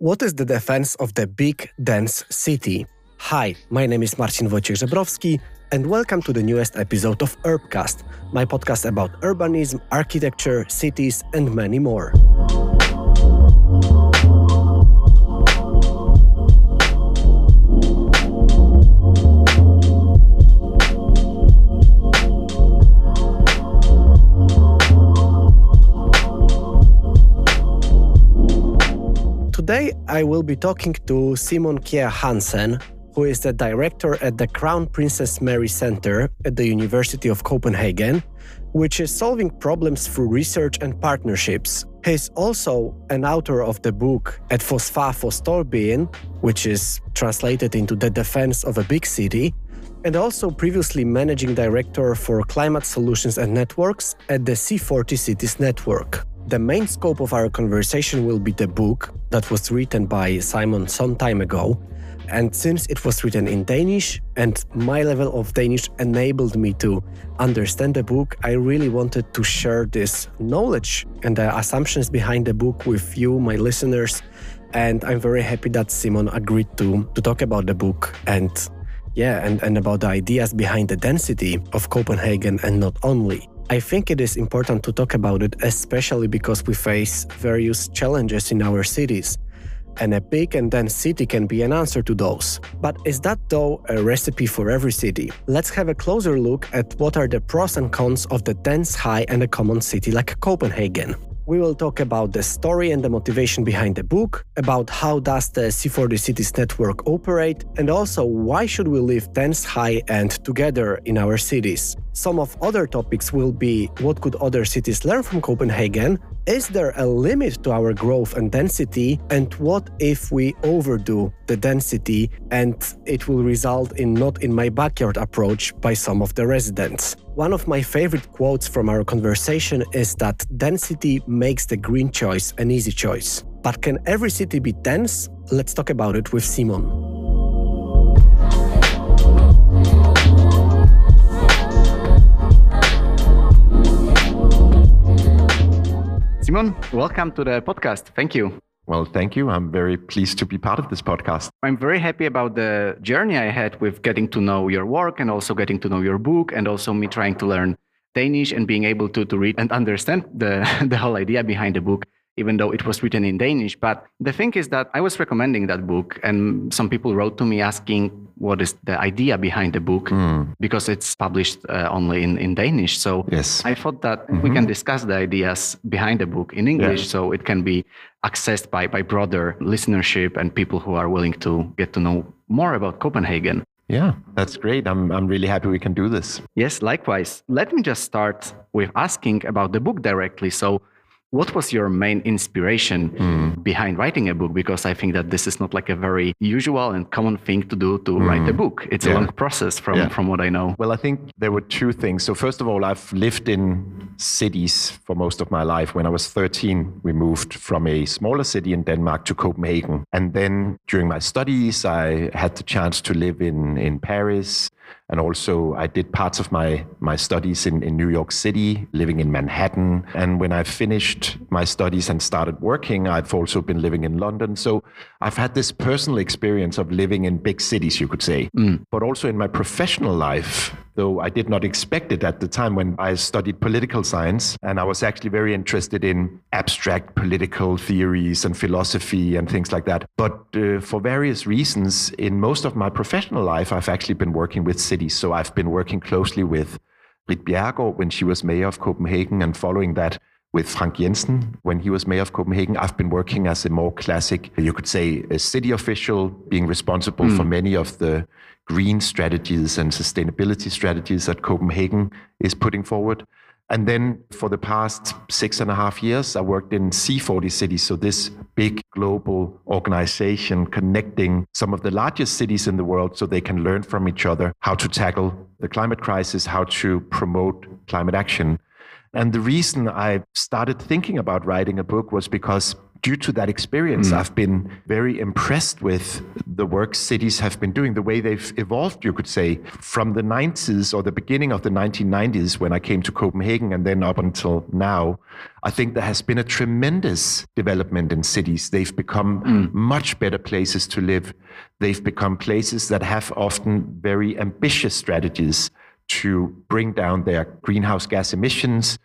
What is the defense of the big, dense city? Hi, my name is Marcin Wojciech-Żebrowski, and welcome to the newest episode of Urbcast, my podcast about urbanism, architecture, cities, and many more. Today, I will be talking to Simon Kjær Hansen, who is the director at the Crown Princess Mary Center at the University of Copenhagen, which is solving problems through research and partnerships. He's also an author of the book Et Forsvar for Storbyen, which is translated into The Defense of a Big City, and also previously managing director for climate solutions and networks at the C40 Cities Network. The main scope of our conversation will be the book that was written by Simon some time ago. And since it was written in Danish and my level of Danish enabled me to understand the book, I really wanted to share this knowledge and the assumptions behind the book with you, my listeners. And I'm very happy that Simon agreed to talk about the book and about the ideas behind the density of Copenhagen and not only. I think it is important to talk about it, especially because we face various challenges in our cities. And a big and dense city can be an answer to those. But is that, though, a recipe for every city? Let's have a closer look at what are the pros and cons of the dense, high, and a common city like Copenhagen. We will talk about the story and the motivation behind the book, about how does the C40 Cities Network operate, and also why should we live dense, high, and together in our cities. Some of other topics will be what could other cities learn from Copenhagen, is there a limit to our growth and density, and what if we overdo the density and it will result in not in my backyard approach by some of the residents. One of my favorite quotes from our conversation is that density makes the green choice an easy choice. But can every city be dense? Let's talk about it with Simon. Simon, welcome to the podcast. Thank you. Well, thank you. I'm very pleased to be part of this podcast. I'm very happy about the journey I had with getting to know your work and also getting to know your book and also me trying to learn Danish and being able to read and understand the whole idea behind the book, even though it was written in Danish. But the thing is that I was recommending that book and some people wrote to me asking what is the idea behind the book because it's published only in Danish. So yes. I thought that we can discuss the ideas behind the book in English so it can be accessed by broader listenership and people who are willing to get to know more about Copenhagen. Yeah, that's great. I'm really happy we can do this. Yes, likewise. Let me just start with asking about the book directly. So what was your main inspiration behind writing a book? Because I think that this is not like a very usual and common thing to do to write a book. It's a long process from what I know. Well, I think there were two things. So first of all, I've lived in cities for most of my life. When I was 13, we moved from a smaller city in Denmark to Copenhagen. And then during my studies, I had the chance to live in Paris. And also I did parts of my studies in New York City, living in Manhattan. And when I finished my studies and started working, I've also been living in London. So I've had this personal experience of living in big cities, you could say. But also in my professional life, though I did not expect it at the time when I studied political science. And I was actually very interested in abstract political theories and philosophy and things like that. But for various reasons, in most of my professional life, I've actually been working with cities. So I've been working closely with Ritt Bjerregaard when she was mayor of Copenhagen, and following that with Frank Jensen when he was mayor of Copenhagen. I've been working as a more classic, you could say, a city official, being responsible for many of the green strategies and sustainability strategies that Copenhagen is putting forward. And then for the past 6.5 years, I worked in C40 Cities, so this big global organization connecting some of the largest cities in the world so they can learn from each other how to tackle the climate crisis, how to promote climate action. And the reason I started thinking about writing a book was because due to that experience, I've been very impressed with the work cities have been doing, the way they've evolved, you could say, from the 90s or the beginning of the 1990s when I came to Copenhagen and then up until now. I think there has been a tremendous development in cities. They've become much better places to live. They've become places that have often very ambitious strategies to bring down their greenhouse gas emissions,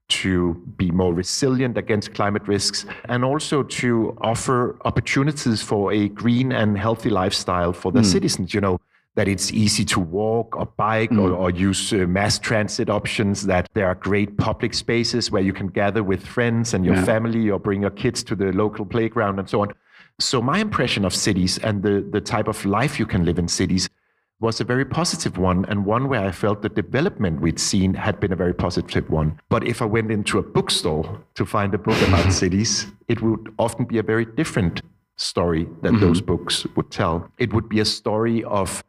to be more resilient against climate risks, and also to offer opportunities for a green and healthy lifestyle for their citizens. You know, that it's easy to walk or bike or use mass transit options, that there are great public spaces where you can gather with friends and your family or bring your kids to the local playground and so on. So my impression of cities and the type of life you can live in cities was a very positive one, and one where I felt the development we'd seen had been a very positive one. But if I went into a bookstore to find a book about cities, it would often be a very different story that those books would tell. It would be a story of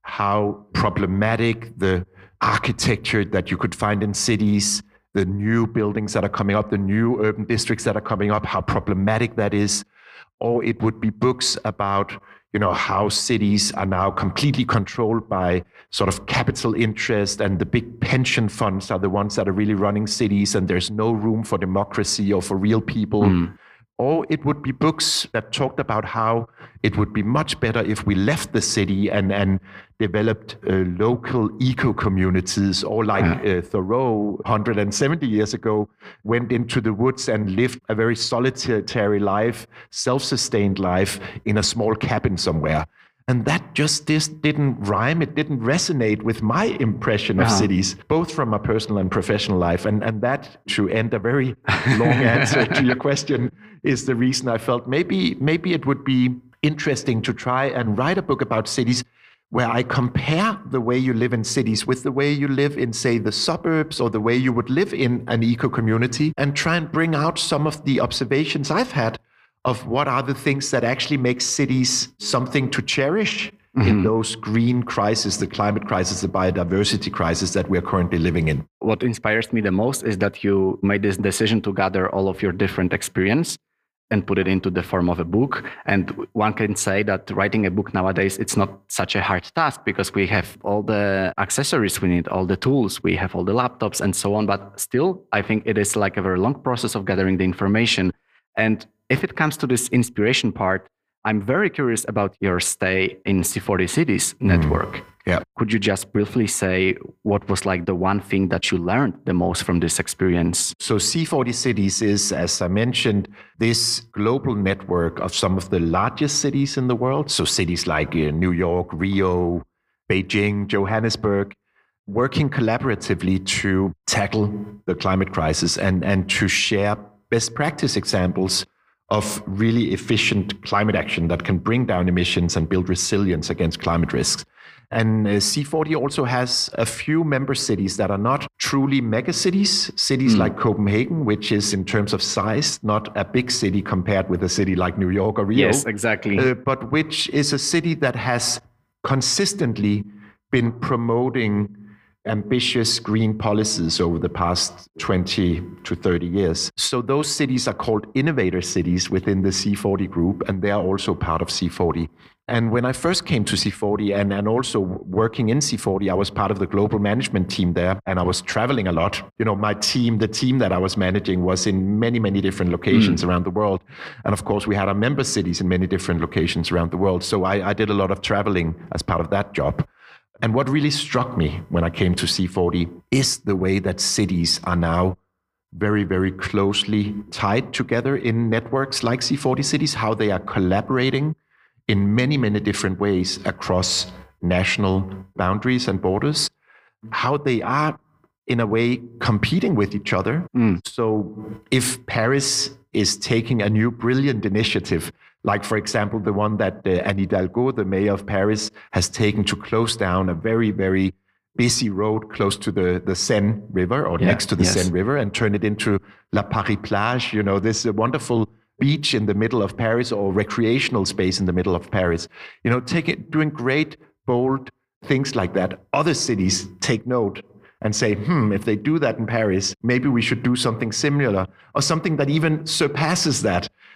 how problematic the architecture that you could find in cities, the new buildings that are coming up, the new urban districts that are coming up, how problematic that is. Or it would be books about, you know, how cities are now completely controlled by sort of capital interest, and the big pension funds are the ones that are really running cities, and there's no room for democracy or for real people. Or it would be books that talked about how it would be much better if we left the city and developed local eco-communities, or like Thoreau 170 years ago went into the woods and lived a very solitary life, self-sustained life in a small cabin somewhere. And that just didn't rhyme. It didn't resonate with my impression of cities, both from my personal and professional life. And that, to end a very long answer to your question, is the reason I felt maybe it would be interesting to try and write a book about cities where I compare the way you live in cities with the way you live in, say, the suburbs, or the way you would live in an eco-community, and try and bring out some of the observations I've had of what are the things that actually make cities something to cherish in those green crises, the climate crisis, the biodiversity crisis that we're currently living in. What inspires me the most is that you made this decision to gather all of your different experience and put it into the form of a book. And one can say that writing a book nowadays, it's not such a hard task, because we have all the accessories we need, all the tools, we have all the laptops and so on. But still, I think it is like a very long process of gathering the information. And if it comes to this inspiration part, I'm very curious about your stay in C40 Cities network. Could you just briefly say what was like the one thing that you learned the most from this experience? So C40 Cities is, as I mentioned, this global network of some of the largest cities in the world. So cities like New York, Rio, Beijing, Johannesburg, working collaboratively to tackle the climate crisis and to share best practice examples of really efficient climate action that can bring down emissions and build resilience against climate risks. And C40 also has a few member cities that are not truly megacities, cities like Copenhagen, which is in terms of size, not a big city compared with a city like New York or Rio. Yes, exactly. But which is a city that has consistently been promoting ambitious green policies over the past 20 to 30 years. So those cities are called innovator cities within the C40 group, and they are also part of C40. And when I first came to C40 and also working in C40, I was part of the global management team there, and I was traveling a lot. You know, my team, the team that I was managing, was in many, many different locations around the world. And of course, we had our member cities in many different locations around the world. So I did a lot of traveling as part of that job. And what really struck me when I came to C40 is the way that cities are now very, very closely tied together in networks like C40 Cities, how they are collaborating in many, many different ways across national boundaries and borders, how they are, in a way, competing with each other. So if Paris is taking a new brilliant initiative, like, for example, the one that Anne Hidalgo, the mayor of Paris, has taken to close down a very, very busy road close to the Seine River, or next to the Seine River, and turn it into La Paris Plage, you know, this wonderful beach in the middle of Paris, or recreational space in the middle of Paris. You know, doing great, bold things like that. Other cities take note and say, if they do that in Paris, maybe we should do something similar, or something that even surpasses that.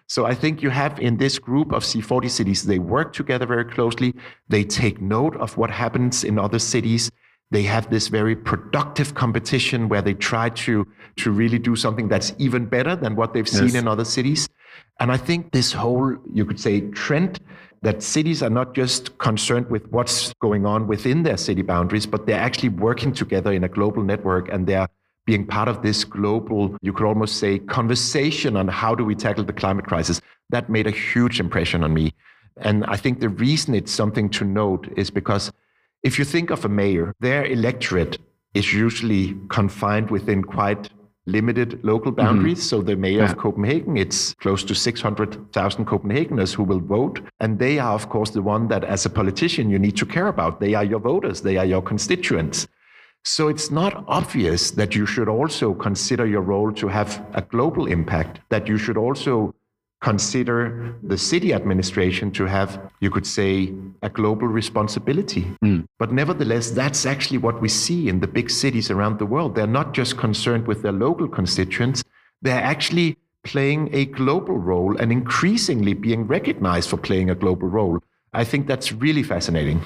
So I think you have in this group of C40 cities, they work together very closely. They take note of what happens in other cities. They have this very productive competition where they try to really do something that's even better than what they've seen in other cities. And I think this whole, you could say, trend that cities are not just concerned with what's going on within their city boundaries, but they're actually working together in a global network, and they're being part of this global, you could almost say, conversation on how do we tackle the climate crisis. That made a huge impression on me. And I think the reason it's something to note is because if you think of a mayor, their electorate is usually confined within quite limited local boundaries. So the mayor of Copenhagen, it's close to 600,000 Copenhageners who will vote. And they are, of course, the one that as a politician you need to care about. They are your voters. They are your constituents. So it's not obvious that you should also consider your role to have a global impact, that you should also consider the city administration to have, you could say, a global responsibility. But nevertheless, that's actually what we see in the big cities around the world. They're not just concerned with their local constituents, they're actually playing a global role and increasingly being recognized for playing a global role. I think that's really fascinating.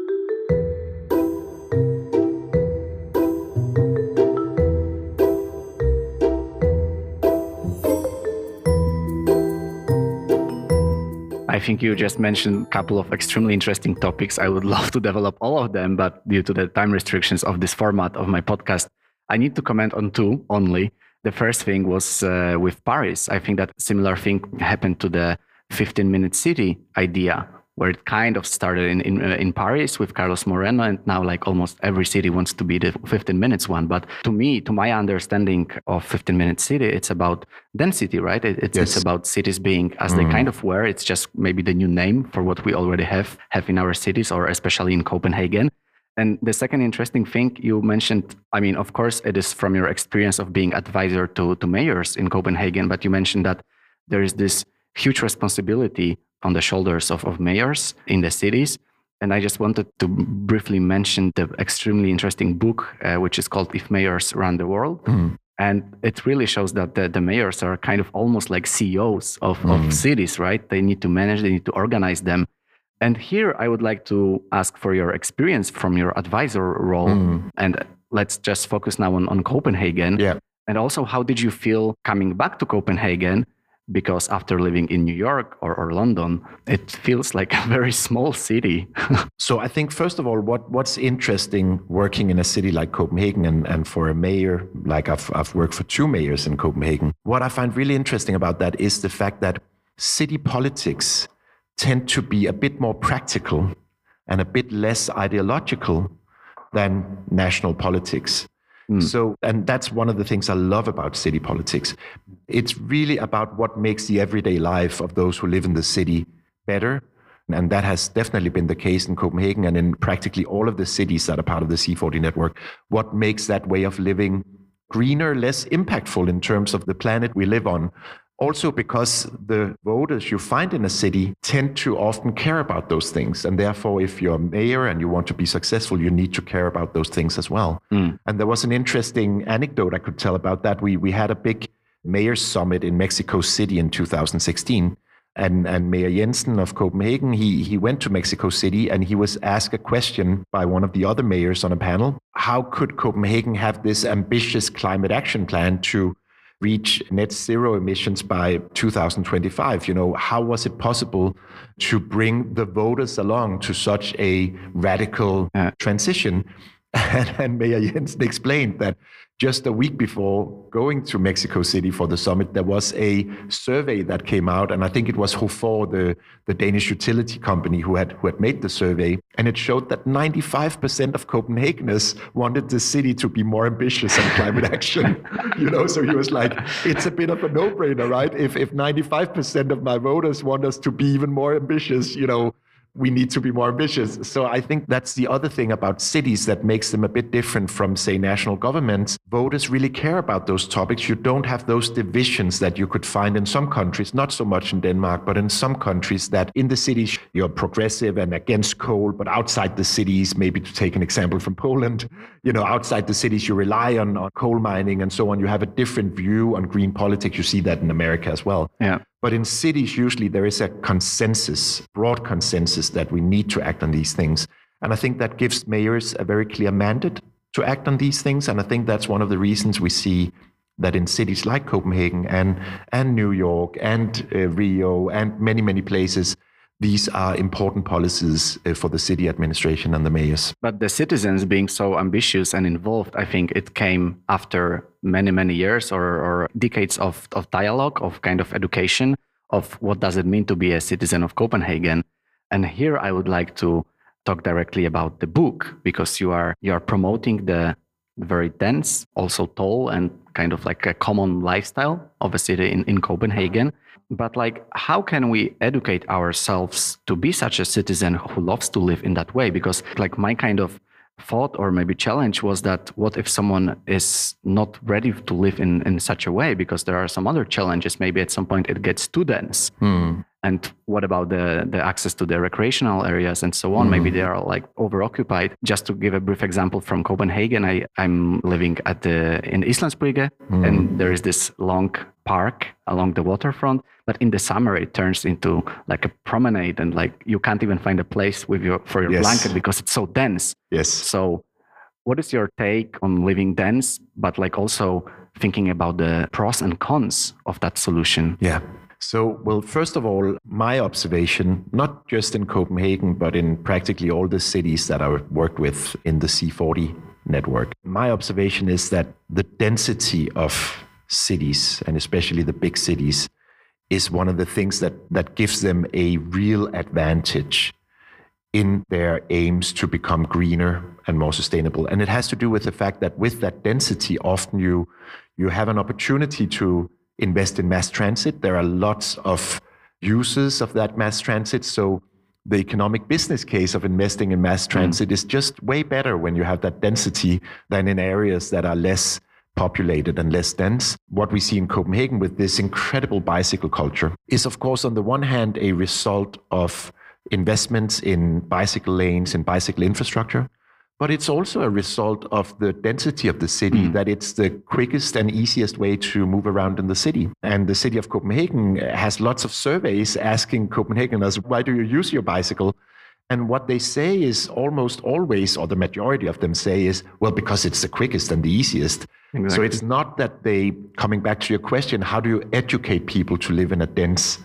I think you just mentioned a couple of extremely interesting topics. I would love to develop all of them, but due to the time restrictions of this format of my podcast, I need to comment on two only. The first thing was with Paris. I think that similar thing happened to the 15-minute city idea, where it kind of started in Paris with Carlos Moreno, and now like almost every city wants to be the 15 minutes one. But to me, to my understanding of 15-minute city, it's about density, right? It's about cities being as they kind of were. It's just maybe the new name for what we already have in our cities, or especially in Copenhagen. And the second interesting thing you mentioned, I mean, of course, it is from your experience of being advisor to mayors in Copenhagen, but you mentioned that there is this huge responsibility on the shoulders of mayors in the cities. And I just wanted to briefly mention the extremely interesting book, which is called If Mayors Run the World. And it really shows that the mayors are kind of almost like CEOs of cities, right? They need to manage, they need to organize them. And here I would like to ask for your experience from your advisor role. And let's just focus now on Copenhagen. Yeah. And also, how did you feel coming back to Copenhagen? Because after living in New York or London, it feels like a very small city. So I think, first of all, what's interesting working in a city like Copenhagen and for a mayor, like I've worked for 2 mayors in Copenhagen, what I find really interesting about that is the fact that city politics tend to be a bit more practical and a bit less ideological than national politics. So, and that's one of the things I love about city politics. It's really about what makes the everyday life of those who live in the city better. And that has definitely been the case in Copenhagen and in practically all of the cities that are part of the C40 network. What makes that way of living greener, less impactful in terms of the planet we live on? Also because the voters you find in a city tend to often care about those things. And therefore, if you're a mayor and you want to be successful, you need to care about those things as well. And there was an interesting anecdote I could tell about that. We had a big mayor's summit in Mexico City in 2016. And Mayor Jensen of Copenhagen, he went to Mexico City and he was asked a question by one of the other mayors on a panel. How could Copenhagen have this ambitious climate action plan to reach net zero emissions by 2025? You know, how was it possible to bring the voters along to such a radical transition? And Mayor Jensen explained that just a week before going to Mexico City for the summit, there was a survey that came out, and I think it was HOFOR, the Danish utility company who had made the survey, and it showed that 95% of Copenhageners wanted the city to be more ambitious on climate action. You know, so he was like, it's a bit of a no-brainer, right? If 95% of my voters want us to be even more ambitious, you know, we need to be more ambitious. So I think that's the other thing about cities that makes them a bit different from, say, national governments. Voters really care about those topics. You don't have those divisions that you could find in some countries, not so much in Denmark, but in some countries that in the cities you're progressive and against coal, but outside the cities, maybe to take an example from Poland, you know, outside the cities you rely on coal mining and so on. You have a different view on green politics. You see that in America as well. Yeah. But in cities, usually there is a consensus, broad consensus that we need to act on these things. And I think that gives mayors a very clear mandate to act on these things. And I think that's one of the reasons we see that in cities like Copenhagen and New York and Rio and many, many places, these are important policies for the city administration and the mayors. But the citizens being so ambitious and involved, I think it came after many, many years or decades of dialogue, of kind of education of what does it mean to be a citizen of Copenhagen. And here I would like to talk directly about the book, because you are promoting the very dense, also tall, and kind of like a common lifestyle of a city in Copenhagen. But like, how can we educate ourselves to be such a citizen who loves to live in that way? Because like my kind of thought or maybe challenge was that what if someone is not ready to live in such a way? Because there are some other challenges. Maybe at some point it gets too dense. And what about the access to the recreational areas and so on? Maybe they are like overoccupied. Just to give a brief example from Copenhagen, I'm living in Islandsbrygge, and there is this long park along the waterfront. But in the summer, it turns into like a promenade, and like you can't even find a place for your blanket because it's so dense. Yes. So, what is your take on living dense, but like also thinking about the pros and cons of that solution? Yeah. So, well, first of all, my observation, not just in Copenhagen, but in practically all the cities that I worked with in the C40 network, my observation is that the density of cities, and especially the big cities, is one of the things that gives them a real advantage in their aims to become greener and more sustainable. And it has to do with the fact that with that density, often you have an opportunity to invest in mass transit. There are lots of uses of that mass transit. So the economic business case of investing in mass transit is just way better when you have that density than in areas that are less populated and less dense. What we see in Copenhagen with this incredible bicycle culture is, of course, on the one hand, a result of investments in bicycle lanes and bicycle infrastructure, but it's also a result of the density of the city, that it's the quickest and easiest way to move around in the city. And the city of Copenhagen has lots of surveys asking Copenhageners, why do you use your bicycle? And what they say is almost always, or the majority of them say is, well, because it's the quickest and the easiest. Exactly. So it's not that coming back to your question, how do you educate people to live in a dense,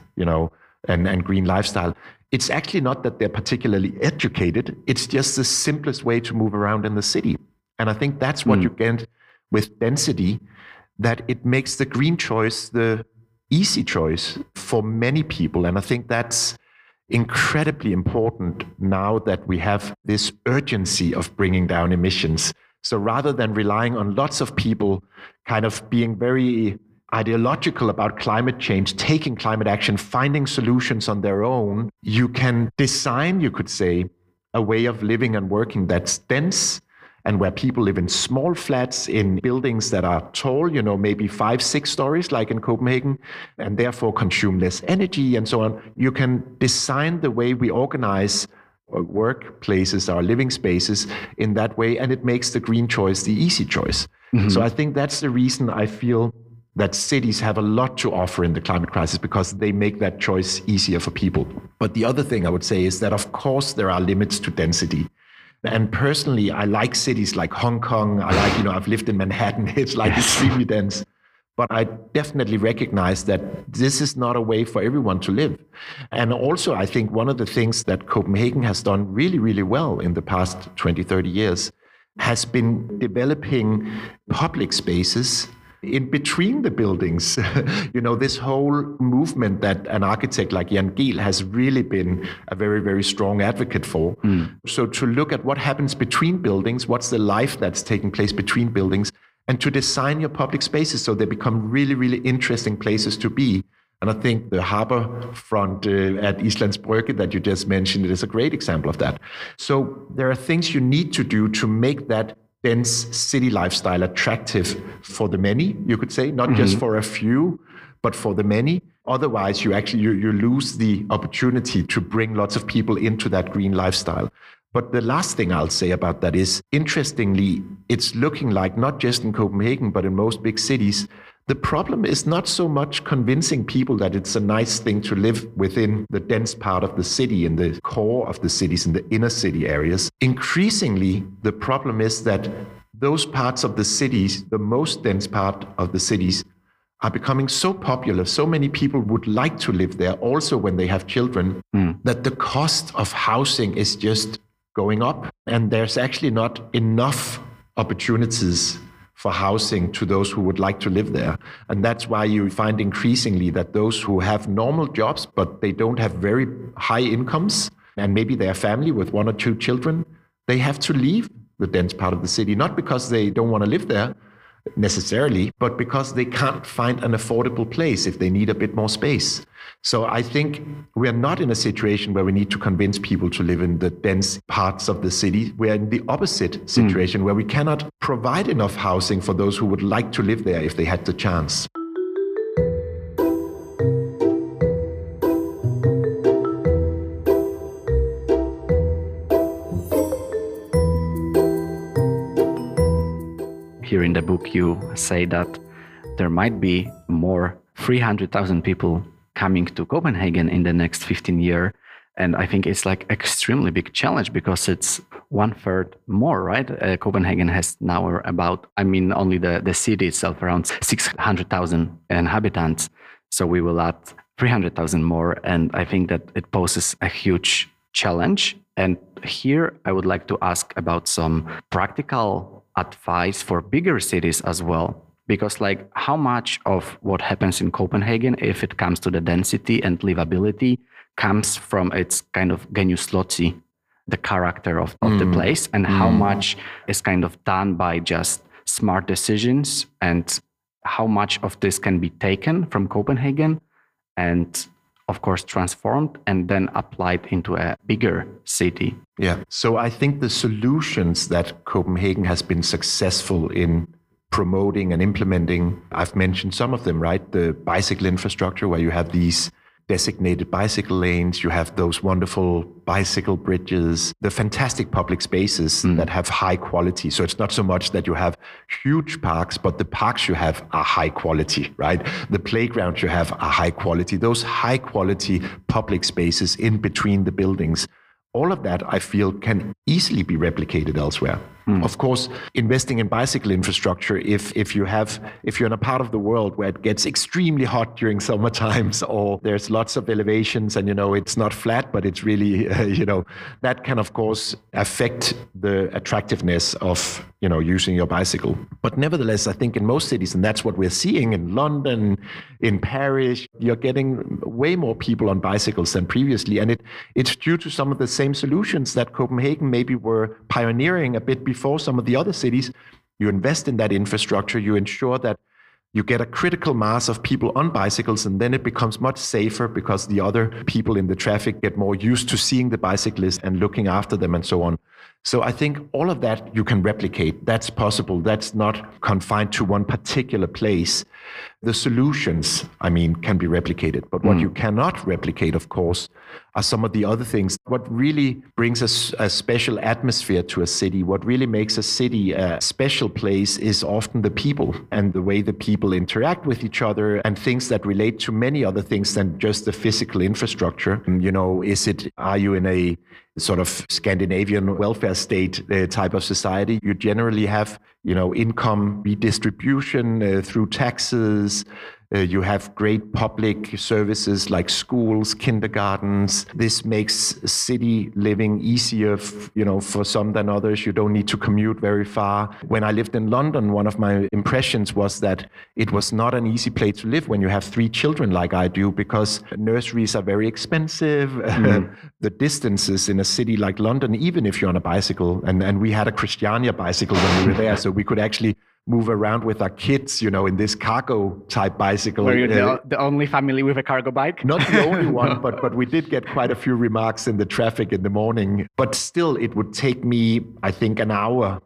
and green lifestyle? It's actually not that they're particularly educated. It's just the simplest way to move around in the city. And I think that's what you get with density, that it makes the green choice the easy choice for many people. And I think that's incredibly important now that we have this urgency of bringing down emissions. So rather than relying on lots of people kind of being very ideological about climate change, taking climate action, finding solutions on their own, you can design, you could say, a way of living and working that's dense and where people live in small flats, in buildings that are tall, maybe 5-6 stories like in Copenhagen, and therefore consume less energy and so on. You can design the way we organize workplaces, our living spaces in that way, and it makes the green choice the easy choice. So I think that's the reason I feel that cities have a lot to offer in the climate crisis, because they make that choice easier for people. But the other thing I would say is that, of course, there are limits to density. And personally, I like cities like Hong Kong. I like, I've lived in Manhattan. It's like extremely dense. But I definitely recognize that this is not a way for everyone to live. And also, I think one of the things that Copenhagen has done really, really well in the past 20, 30 years has been developing public spaces in between the buildings. This whole movement that an architect like Jan Gehl has really been a very, very strong advocate for. So to look at what happens between buildings, what's the life that's taking place between buildings, and to design your public spaces so they become really, really interesting places to be. And I think the harbor front at Islandsbrygge that you just mentioned, it is a great example of that. So there are things you need to do to make that dense city lifestyle attractive for the many, you could say, not just for a few, but for the many. Otherwise, you lose the opportunity to bring lots of people into that green lifestyle. But the last thing I'll say about that is, interestingly, it's looking like, not just in Copenhagen, but in most big cities, The problem is not so much convincing people that it's a nice thing to live within the dense part of the city, in the core of the cities, in the inner city areas. Increasingly, the problem is that those parts of the cities, the most dense part of the cities, are becoming so popular. So many people would like to live there also when they have children, that the cost of housing is just going up. And there's actually not enough opportunities for housing to those who would like to live there. And that's why you find increasingly that those who have normal jobs, but they don't have very high incomes, and maybe they're a family with 1 or 2 children, they have to leave the dense part of the city, not because they don't want to live there necessarily, but because they can't find an affordable place if they need a bit more space. So I think we are not in a situation where we need to convince people to live in the dense parts of the city. We are in the opposite situation where we cannot provide enough housing for those who would like to live there if they had the chance. Here in the book, you say that there might be more 300,000 people coming to Copenhagen in the next 15 years. And I think it's like extremely big challenge because it's 1/3 more, right? Copenhagen has now about, only the city itself, around 600,000 inhabitants. So we will add 300,000 more. And I think that it poses a huge challenge. And here I would like to ask about some practical advice for bigger cities as well. Because how much of what happens in Copenhagen, if it comes to the density and livability, comes from its kind of genius loci, the character of the place, and how much is kind of done by just smart decisions, and how much of this can be taken from Copenhagen and of course transformed and then applied into a bigger city. Yeah. So I think the solutions that Copenhagen has been successful in promoting and implementing, I've mentioned some of them, right? The bicycle infrastructure, where you have these designated bicycle lanes, you have those wonderful bicycle bridges, the fantastic public spaces that have high quality. So it's not so much that you have huge parks, but the parks you have are high quality, right? The playgrounds you have are high quality. Those high quality public spaces in between the buildings, all of that I feel can easily be replicated elsewhere. Of course, investing in bicycle infrastructure, if you're in a part of the world where it gets extremely hot during summer times, or there's lots of elevations and it's not flat, but it's really that can of course affect the attractiveness of using your bicycle. But nevertheless, I think in most cities, and that's what we're seeing in London, in Paris, you're getting way more people on bicycles than previously, and it's due to some of the same solutions that Copenhagen maybe were pioneering a bit before some of the other cities. You invest in that infrastructure, you ensure that you get a critical mass of people on bicycles, and then it becomes much safer because the other people in the traffic get more used to seeing the bicyclists and looking after them and so on. So I think all of that you can replicate. That's possible. That's not confined to one particular place. The solutions, can be replicated. But what you cannot replicate, of course, are some of the other things. What really brings a special atmosphere to a city, what really makes a city a special place, is often the people and the way the people interact with each other, and things that relate to many other things than just the physical infrastructure. Are you in a sort of Scandinavian welfare state type of society? You generally have, income redistribution through taxes. You have great public services like schools, kindergartens. This makes city living easier, for some than others. You don't need to commute very far. When I lived in London, one of my impressions was that it was not an easy place to live when you have 3 children like I do, because nurseries are very expensive. The distances in a city like London, even if you're on a bicycle, and we had a Christiania bicycle when we were there, so we could actually move around with our kids, in this cargo type bicycle. Were you the only family with a cargo bike? Not the only one, but we did get quite a few remarks in the traffic in the morning. But still, it would take me, I think, an hour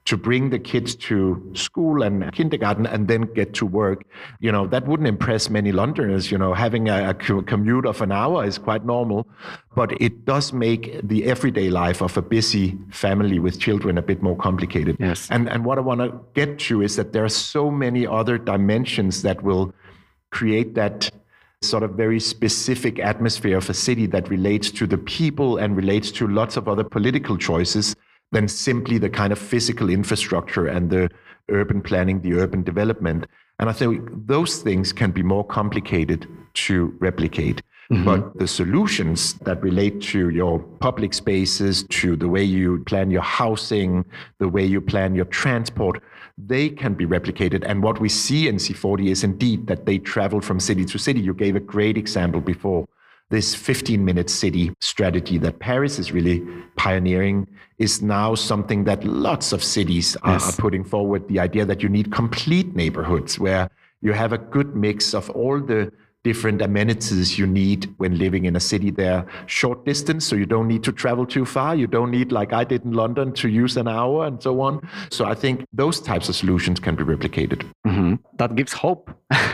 to bring the kids to school and kindergarten and then get to work. That wouldn't impress many Londoners. Having a commute of an hour is quite normal, but it does make the everyday life of a busy family with children a bit more complicated. Yes. And what I want to get to is that there are so many other dimensions that will create that sort of very specific atmosphere of a city that relates to the people and relates to lots of other political choices than simply the kind of physical infrastructure and the urban planning, the urban development. And I think those things can be more complicated to replicate. Mm-hmm. But the solutions that relate to your public spaces, to the way you plan your housing, the way you plan your transport, they can be replicated. And what we see in C40 is indeed that they travel from city to city. You gave a great example before. This 15-minute city strategy that Paris is really pioneering is now something that lots of cities are putting forward. The idea that you need complete neighborhoods where you have a good mix of all the different amenities you need when living in a city. They're short distance, so you don't need to travel too far. You don't need, like I did in London, to use an hour and so on. So I think those types of solutions can be replicated. Mm-hmm. That gives hope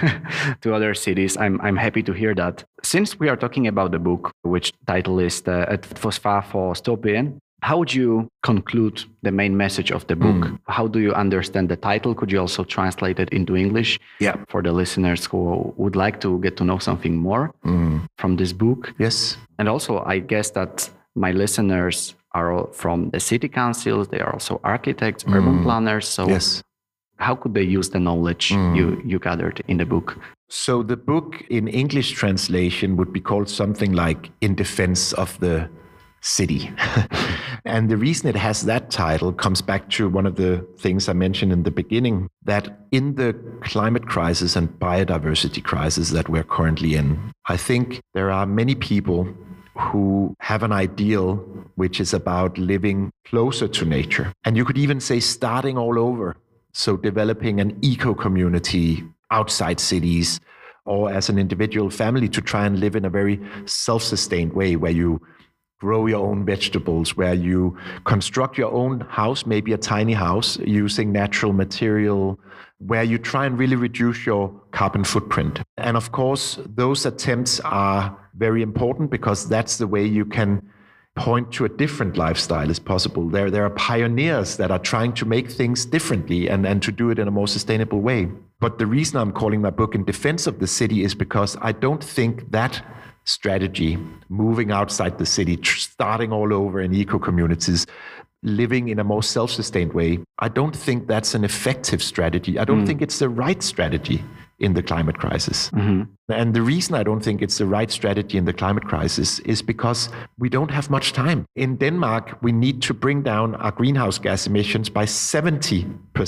to other cities. I'm happy to hear that. Since we are talking about the book, which title is Het Fosfaat voor Stoppen, how would you conclude the main message of the book? How do you understand the title? Could you also translate it into English for the listeners who would like to get to know something more from this book? Yes. And also, I guess that my listeners are all from the city councils. They are also architects, urban planners. So how could they use the knowledge you gathered in the book? So the book in English translation would be called something like In Defense of the City. And the reason it has that title comes back to one of the things I mentioned in the beginning, that in the climate crisis and biodiversity crisis that we're currently in, I think there are many people who have an ideal which is about living closer to nature. And you could even say starting all over. So developing an eco-community outside cities, or as an individual family to try and live in a very self-sustained way where you grow your own vegetables, where you construct your own house, maybe a tiny house using natural material, where you try and really reduce your carbon footprint. And of course, those attempts are very important because that's the way you can point to a different lifestyle as possible. There are pioneers that are trying to make things differently and to do it in a more sustainable way. But the reason I'm calling my book In Defense of the City is because I don't think that strategy, moving outside the city, starting all over in eco-communities, living in a more self-sustained way, I don't think that's an effective strategy. I don't think it's the right strategy in the climate crisis. And the reason I don't think it's the right strategy in the climate crisis is because we don't have much time. In Denmark, we need to bring down our greenhouse gas emissions by 70%,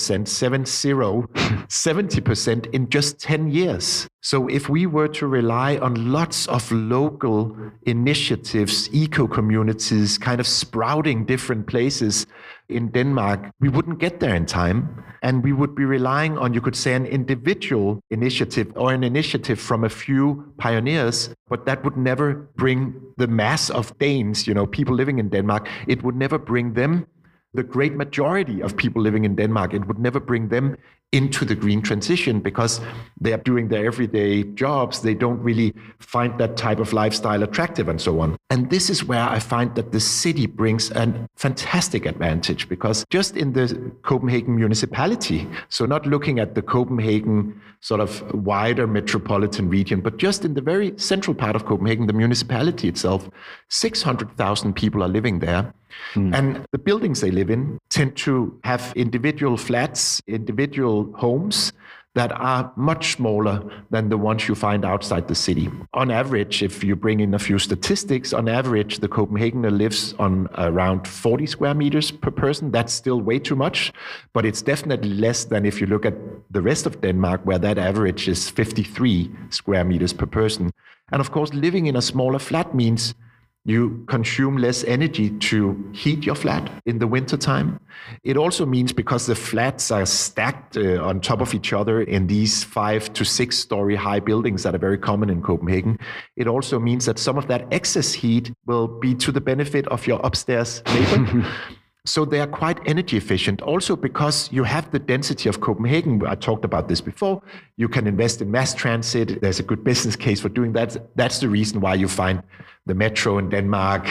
70% in just 10 years. So if we were to rely on lots of local initiatives, eco-communities, kind of sprouting different places in Denmark, we wouldn't get there in time. And we would be relying on, you could say, an individual initiative or an initiative from a few pioneers, but that would never bring the mass of Danes, people living in Denmark. It would never bring them, the great majority of people living in Denmark, it would never bring them into the green transition because they are doing their everyday jobs. They don't really find that type of lifestyle attractive and so on. And this is where I find that the city brings a fantastic advantage because just in the Copenhagen municipality, so not looking at the Copenhagen sort of wider metropolitan region, but just in the very central part of Copenhagen, the municipality itself, 600,000 people are living there. And the buildings they live in tend to have individual flats, individual homes that are much smaller than the ones you find outside the city. On average, if you bring in a few statistics, on average, the Copenhagener lives on around 40 square meters per person. That's still way too much, but it's definitely less than if you look at the rest of Denmark, where that average is 53 square meters per person. And of course, living in a smaller flat means you consume less energy to heat your flat in the wintertime. It also means because the flats are stacked on top of each other in these 5 to 6 story high buildings that are very common in Copenhagen, it also means that some of that excess heat will be to the benefit of your upstairs neighbor. So they are quite energy efficient. Also because you have the density of Copenhagen. I talked about this before. You can invest in mass transit. There's a good business case for doing that. That's the reason why you find the metro in Denmark,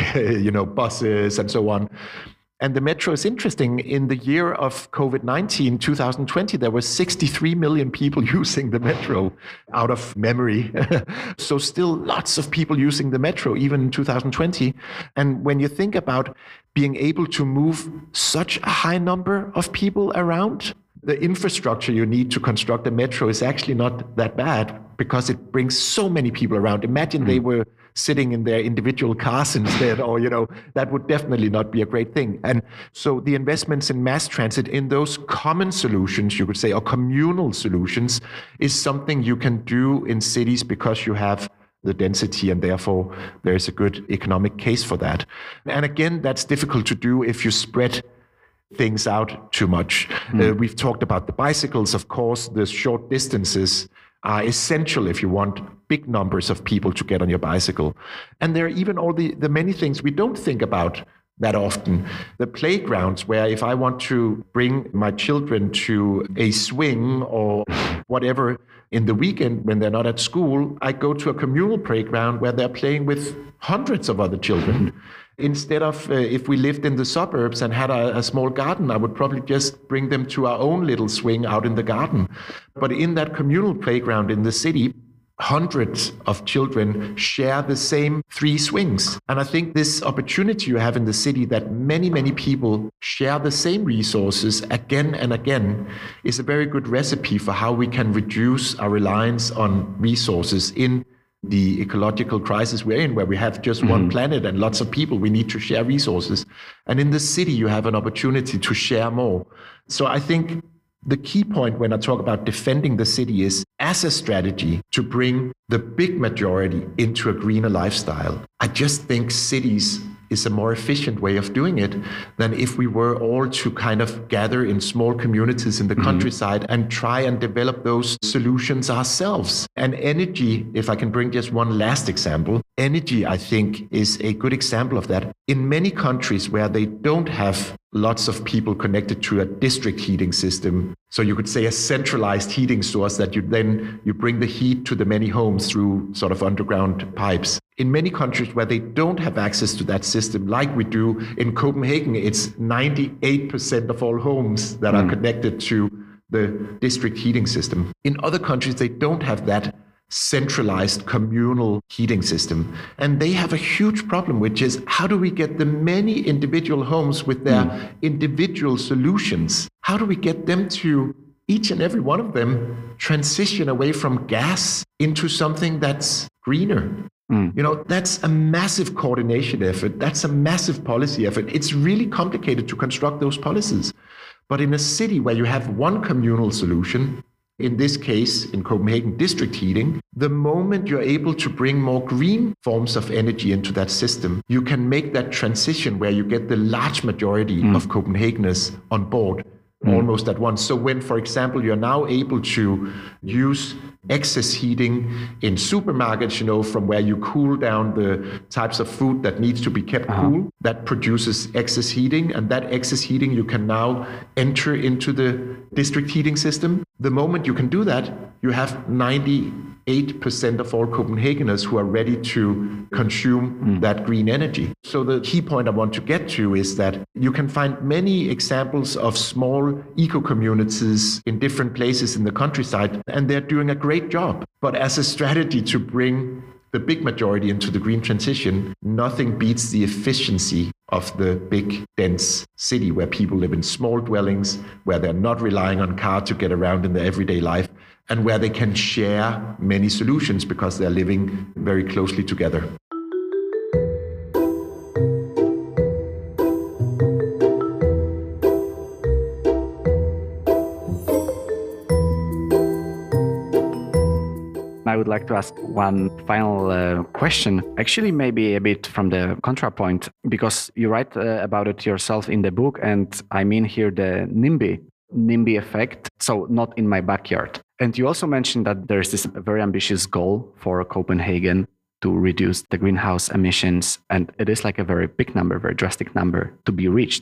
buses and so on. And the metro is interesting. In the year of COVID-19, 2020, there were 63 million people using the metro out of memory. So still lots of people using the metro, even in 2020. And when you think about being able to move such a high number of people around, the infrastructure you need to construct a metro is actually not that bad because it brings so many people around. Imagine they were sitting in their individual cars instead, or, that would definitely not be a great thing. And so the investments in mass transit, in those common solutions, you could say, or communal solutions, is something you can do in cities because you have the density, and therefore there's a good economic case for that. And again, that's difficult to do if you spread things out too much. We've talked about the bicycles, of course. The short distances are essential if you want big numbers of people to get on your bicycle. And there are even all the many things we don't think about that often. The playgrounds, where if I want to bring my children to a swing or whatever in the weekend when they're not at school, I go to a communal playground where they're playing with hundreds of other children. Instead of if we lived in the suburbs and had a small garden, I would probably just bring them to our own little swing out in the garden. But in that communal playground in the city, hundreds of children share the same 3 swings. And I think this opportunity you have in the city that many, many people share the same resources again and again is a very good recipe for how we can reduce our reliance on resources in the ecological crisis we're in, where we have just one planet and lots of people. We need to share resources. And in the city, you have an opportunity to share more. So I think the key point when I talk about defending the city is, as a strategy to bring the big majority into a greener lifestyle, I just think cities is a more efficient way of doing it than if we were all to kind of gather in small communities in the countryside and try and develop those solutions ourselves. And energy, if I can bring just one last example, energy, I think, is a good example of that. In many countries where they don't have lots of people connected to a district heating system, so you could say a centralized heating source that you bring the heat to the many homes through sort of underground pipes. In many countries where they don't have access to that system, like we do in Copenhagen, it's 98% of all homes that are connected to the district heating system. In other countries, they don't have that centralized communal heating system. And they have a huge problem, which is, how do we get the many individual homes with their individual solutions? How do we get them to, each and every one of them, transition away from gas into something that's greener? That's a massive coordination effort. That's a massive policy effort. It's really complicated to construct those policies. But in a city where you have one communal solution, in this case, in Copenhagen, district heating, the moment you're able to bring more green forms of energy into that system, you can make that transition where you get the large majority of Copenhageners on board almost at once. So when, for example, you're now able to use excess heating in supermarkets, from where you cool down the types of food that needs to be kept cool, that produces excess heating, and that excess heating you can now enter into the district heating system. The moment you can do that, you have 98% of all Copenhageners who are ready to consume that green energy. So the key point I want to get to is that you can find many examples of small eco-communities in different places in the countryside, and they're doing a great job. But as a strategy to bring the big majority into the green transition, nothing beats the efficiency of the big, dense city where people live in small dwellings, where they're not relying on car to get around in their everyday life, and where they can share many solutions because they're living very closely together. I would like to ask one final question, actually maybe a bit from the contrapoint, because you write about it yourself in the book, and I mean here the NIMBY effect, so not in my backyard. And you also mentioned that there's this very ambitious goal for Copenhagen to reduce the greenhouse emissions, and it is like a very big number, very drastic number to be reached.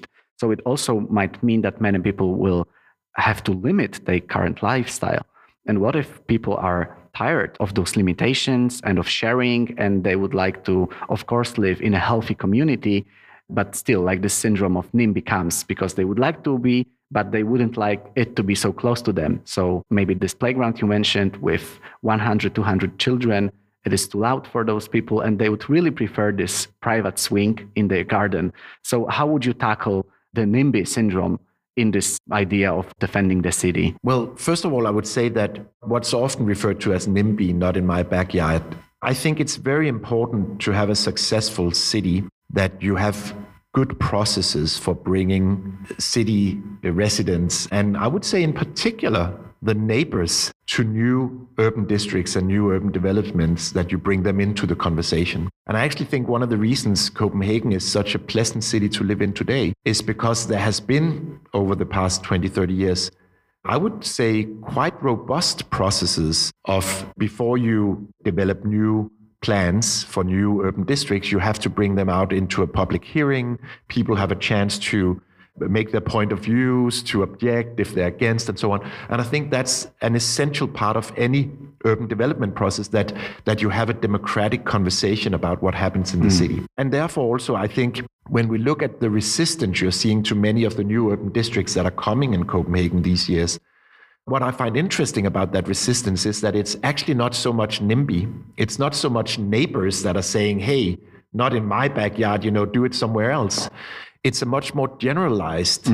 So it also might mean that many people will have to limit their current lifestyle. And what if people are tired of those limitations and of sharing, and they would like to, of course, live in a healthy community, but still like this syndrome of NIMBY comes because they would like to be, but they wouldn't like it to be so close to them. So maybe this playground you mentioned with 100, 200 children, it is too loud for those people, and they would really prefer this private swing in their garden. So how would you tackle the NIMBY syndrome in this idea of defending the city? Well, first of all, I would say that what's often referred to as NIMBY, not in my backyard, I think it's very important to have a successful city that you have good processes for bringing city residents, and I would say in particular the neighbors, to new urban districts and new urban developments, that you bring them into the conversation. And I actually think one of the reasons Copenhagen is such a pleasant city to live in today is because there has been, over the past 20, 30 years, I would say quite robust processes of, before you develop new plans for new urban districts, you have to bring them out into a public hearing. People have a chance to make their point of views, to object if they're against, and so on. And I think that's an essential part of any urban development process, that you have a democratic conversation about what happens in the city. And therefore also, I think when we look at the resistance you're seeing to many of the new urban districts that are coming in Copenhagen these years, what I find interesting about that resistance is that it's actually not so much NIMBY. It's not so much neighbors that are saying, hey, not in my backyard, do it somewhere else. It's a much more generalized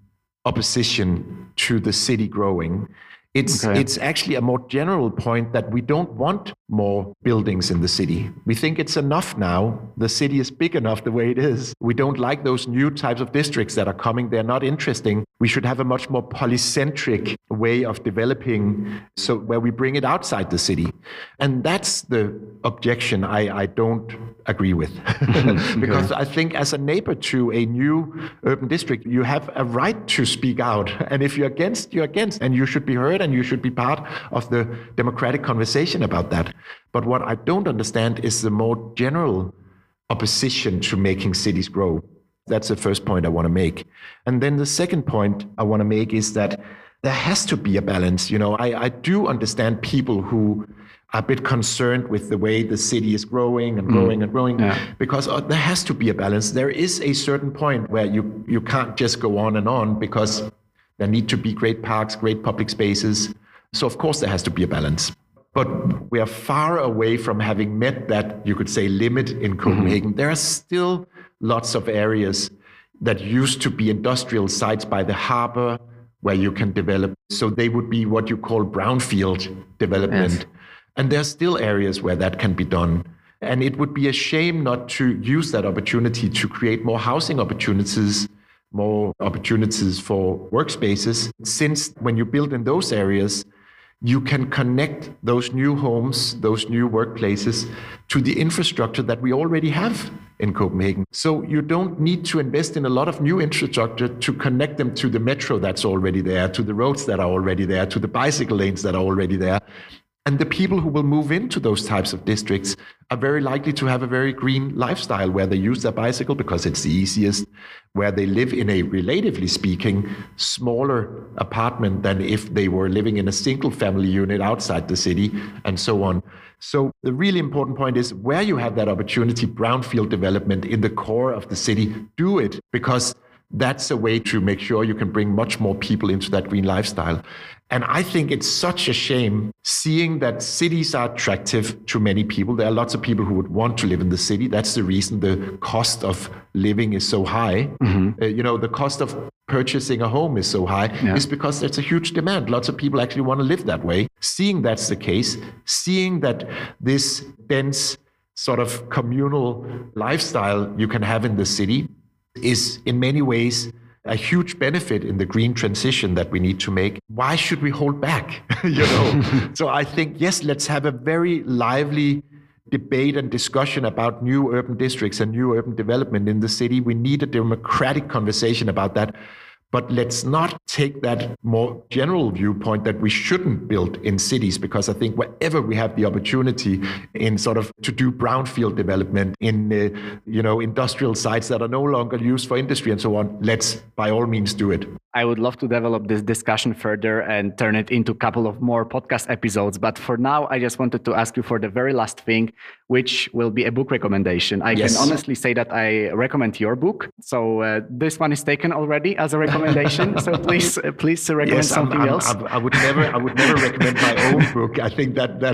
opposition to the city growing. It's actually a more general point that we don't want more buildings in the city. We think it's enough now. The city is big enough the way it is. We don't like those new types of districts that are coming. They're not interesting. We should have a much more polycentric way of developing, so where we bring it outside the city. And that's the objection I don't agree with. Because I think as a neighbor to a new urban district, you have a right to speak out. And if you're against, you're against. And you should be heard, and you should be part of the democratic conversation about that. But what I don't understand is the more general opposition to making cities grow. That's the first point I want to make. And then the second point I want to make is that there has to be a balance. I do understand people who are a bit concerned with the way the city is growing and growing and growing, because there has to be a balance. There is a certain point where you can't just go on and on, because there need to be great parks, great public spaces. So of course there has to be a balance. But we are far away from having met that, you could say, limit in Copenhagen. There are still lots of areas that used to be industrial sites by the harbor where you can develop. So they would be what you call brownfield development. Yes. And there are still areas where that can be done. And it would be a shame not to use that opportunity to create more housing opportunities, more opportunities for workspaces, since when you build in those areas, you can connect those new homes, those new workplaces to the infrastructure that we already have in Copenhagen. So you don't need to invest in a lot of new infrastructure to connect them to the metro that's already there, to the roads that are already there, to the bicycle lanes that are already there. And the people who will move into those types of districts are very likely to have a very green lifestyle, where they use their bicycle because it's the easiest, where they live in a, relatively speaking, smaller apartment than if they were living in a single family unit outside the city, and so on. So the really important point is, where you have that opportunity, brownfield development in the core of the city, do it, because that's a way to make sure you can bring much more people into that green lifestyle. And I think it's such a shame seeing that cities are attractive to many people. There are lots of people who would want to live in the city. That's the reason the cost of living is so high. The cost of purchasing a home is so high, is because there's a huge demand. Lots of people actually want to live that way. Seeing that's the case, seeing that this dense sort of communal lifestyle you can have in the city is in many ways a huge benefit in the green transition that we need to make. Why should we hold back? So I think, yes, let's have a very lively debate and discussion about new urban districts and new urban development in the city. We need a democratic conversation about that. But let's not take that more general viewpoint that we shouldn't build in cities, because I think wherever we have the opportunity in sort of to do brownfield development in industrial sites that are no longer used for industry and so on, let's by all means do it. I would love to develop this discussion further and turn it into a couple of more podcast episodes. But for now, I just wanted to ask you for the very last thing, which will be a book recommendation. I can honestly say that I recommend your book. So this one is taken already as a recommendation. So please recommend something else. I would never recommend my own book. I think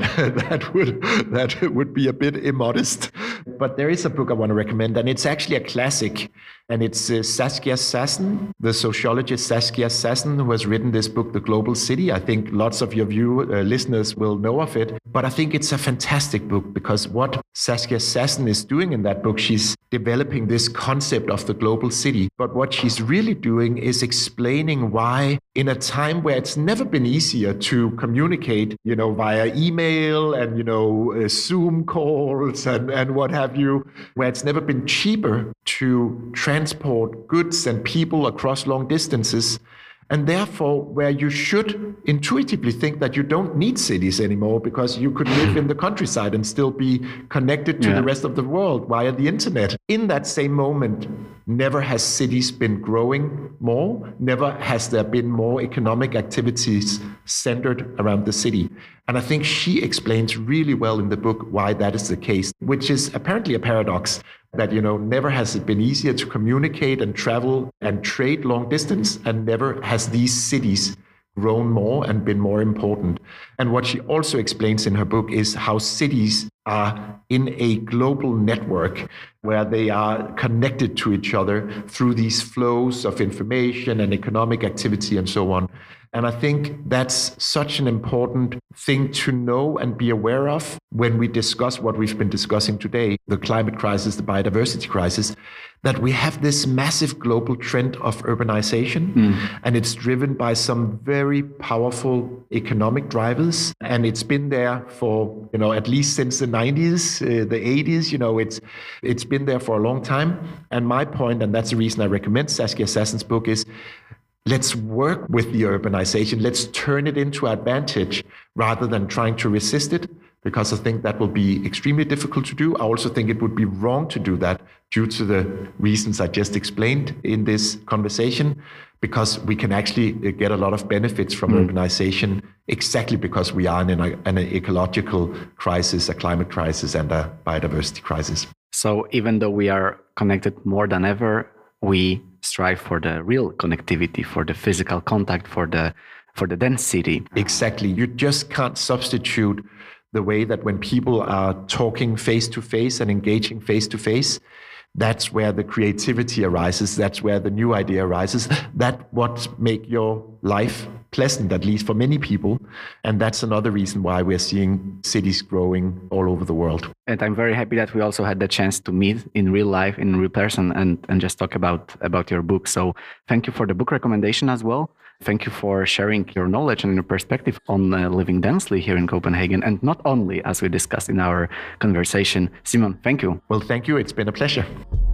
that would be a bit immodest. But there is a book I want to recommend, and it's actually a classic. And it's Saskia Sassen, the sociologist Saskia Sassen, who has written this book, The Global City. I think lots of your listeners will know of it. But I think it's a fantastic book, because what Saskia Sassen is doing in that book, she's developing this concept of the global city. But what she's really doing is explaining why, in a time where it's never been easier to communicate, via email and, Zoom calls and what have you, where it's never been cheaper to transport goods and people across long distances, and therefore where you should intuitively think that you don't need cities anymore, because you could live in the countryside and still be connected to the rest of the world via the internet. In that same moment, never has cities been growing more, never has there been more economic activities centered around the city. And I think she explains really well in the book why that is the case, which is apparently a paradox. That, never has it been easier to communicate and travel and trade long distance, and never has these cities grown more and been more important. And what she also explains in her book is how cities are in a global network where they are connected to each other through these flows of information and economic activity and so on. And I think that's such an important thing to know and be aware of when we discuss what we've been discussing today, the climate crisis, the biodiversity crisis, that we have this massive global trend of urbanization, and it's driven by some very powerful economic drivers. And it's been there for, at least since the 90s, the 80s, it's been there for a long time. And my point, and that's the reason I recommend Saskia Sassen's book, is let's work with the urbanization. Let's turn it into advantage rather than trying to resist it, because I think that will be extremely difficult to do. I also think it would be wrong to do that due to the reasons I just explained in this conversation, because we can actually get a lot of benefits from urbanization exactly because we are in an ecological crisis, a climate crisis, and a biodiversity crisis. So even though we are connected more than ever, we strive for the real connectivity, for the physical contact, for the dense city. Exactly. You just can't substitute the way that when people are talking face to face and engaging face to face, that's where the creativity arises. That's where the new idea arises. That's what make your life pleasant, at least for many people. And that's another reason why we're seeing cities growing all over the world. And I'm very happy that we also had the chance to meet in real life, in real person, and just talk about your book. So thank you for the book recommendation as well. Thank you for sharing your knowledge and your perspective on living densely here in Copenhagen, and not only, as we discussed in our conversation. Simon, thank you. Well, thank you. It's been a pleasure.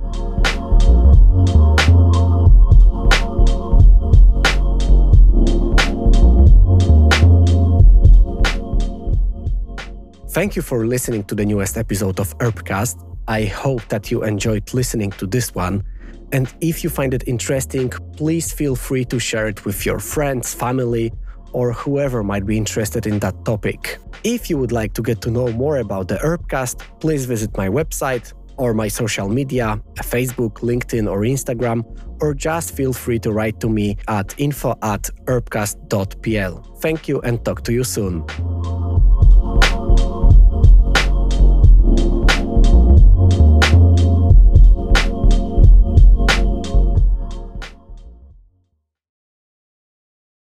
Thank you for listening to the newest episode of Urbcast. I hope that you enjoyed listening to this one. And if you find it interesting, please feel free to share it with your friends, family, or whoever might be interested in that topic. If you would like to get to know more about the Urbcast, please visit my website or my social media, Facebook, LinkedIn, or Instagram, or just feel free to write to me at info@urbcast.pl. Thank you and talk to you soon.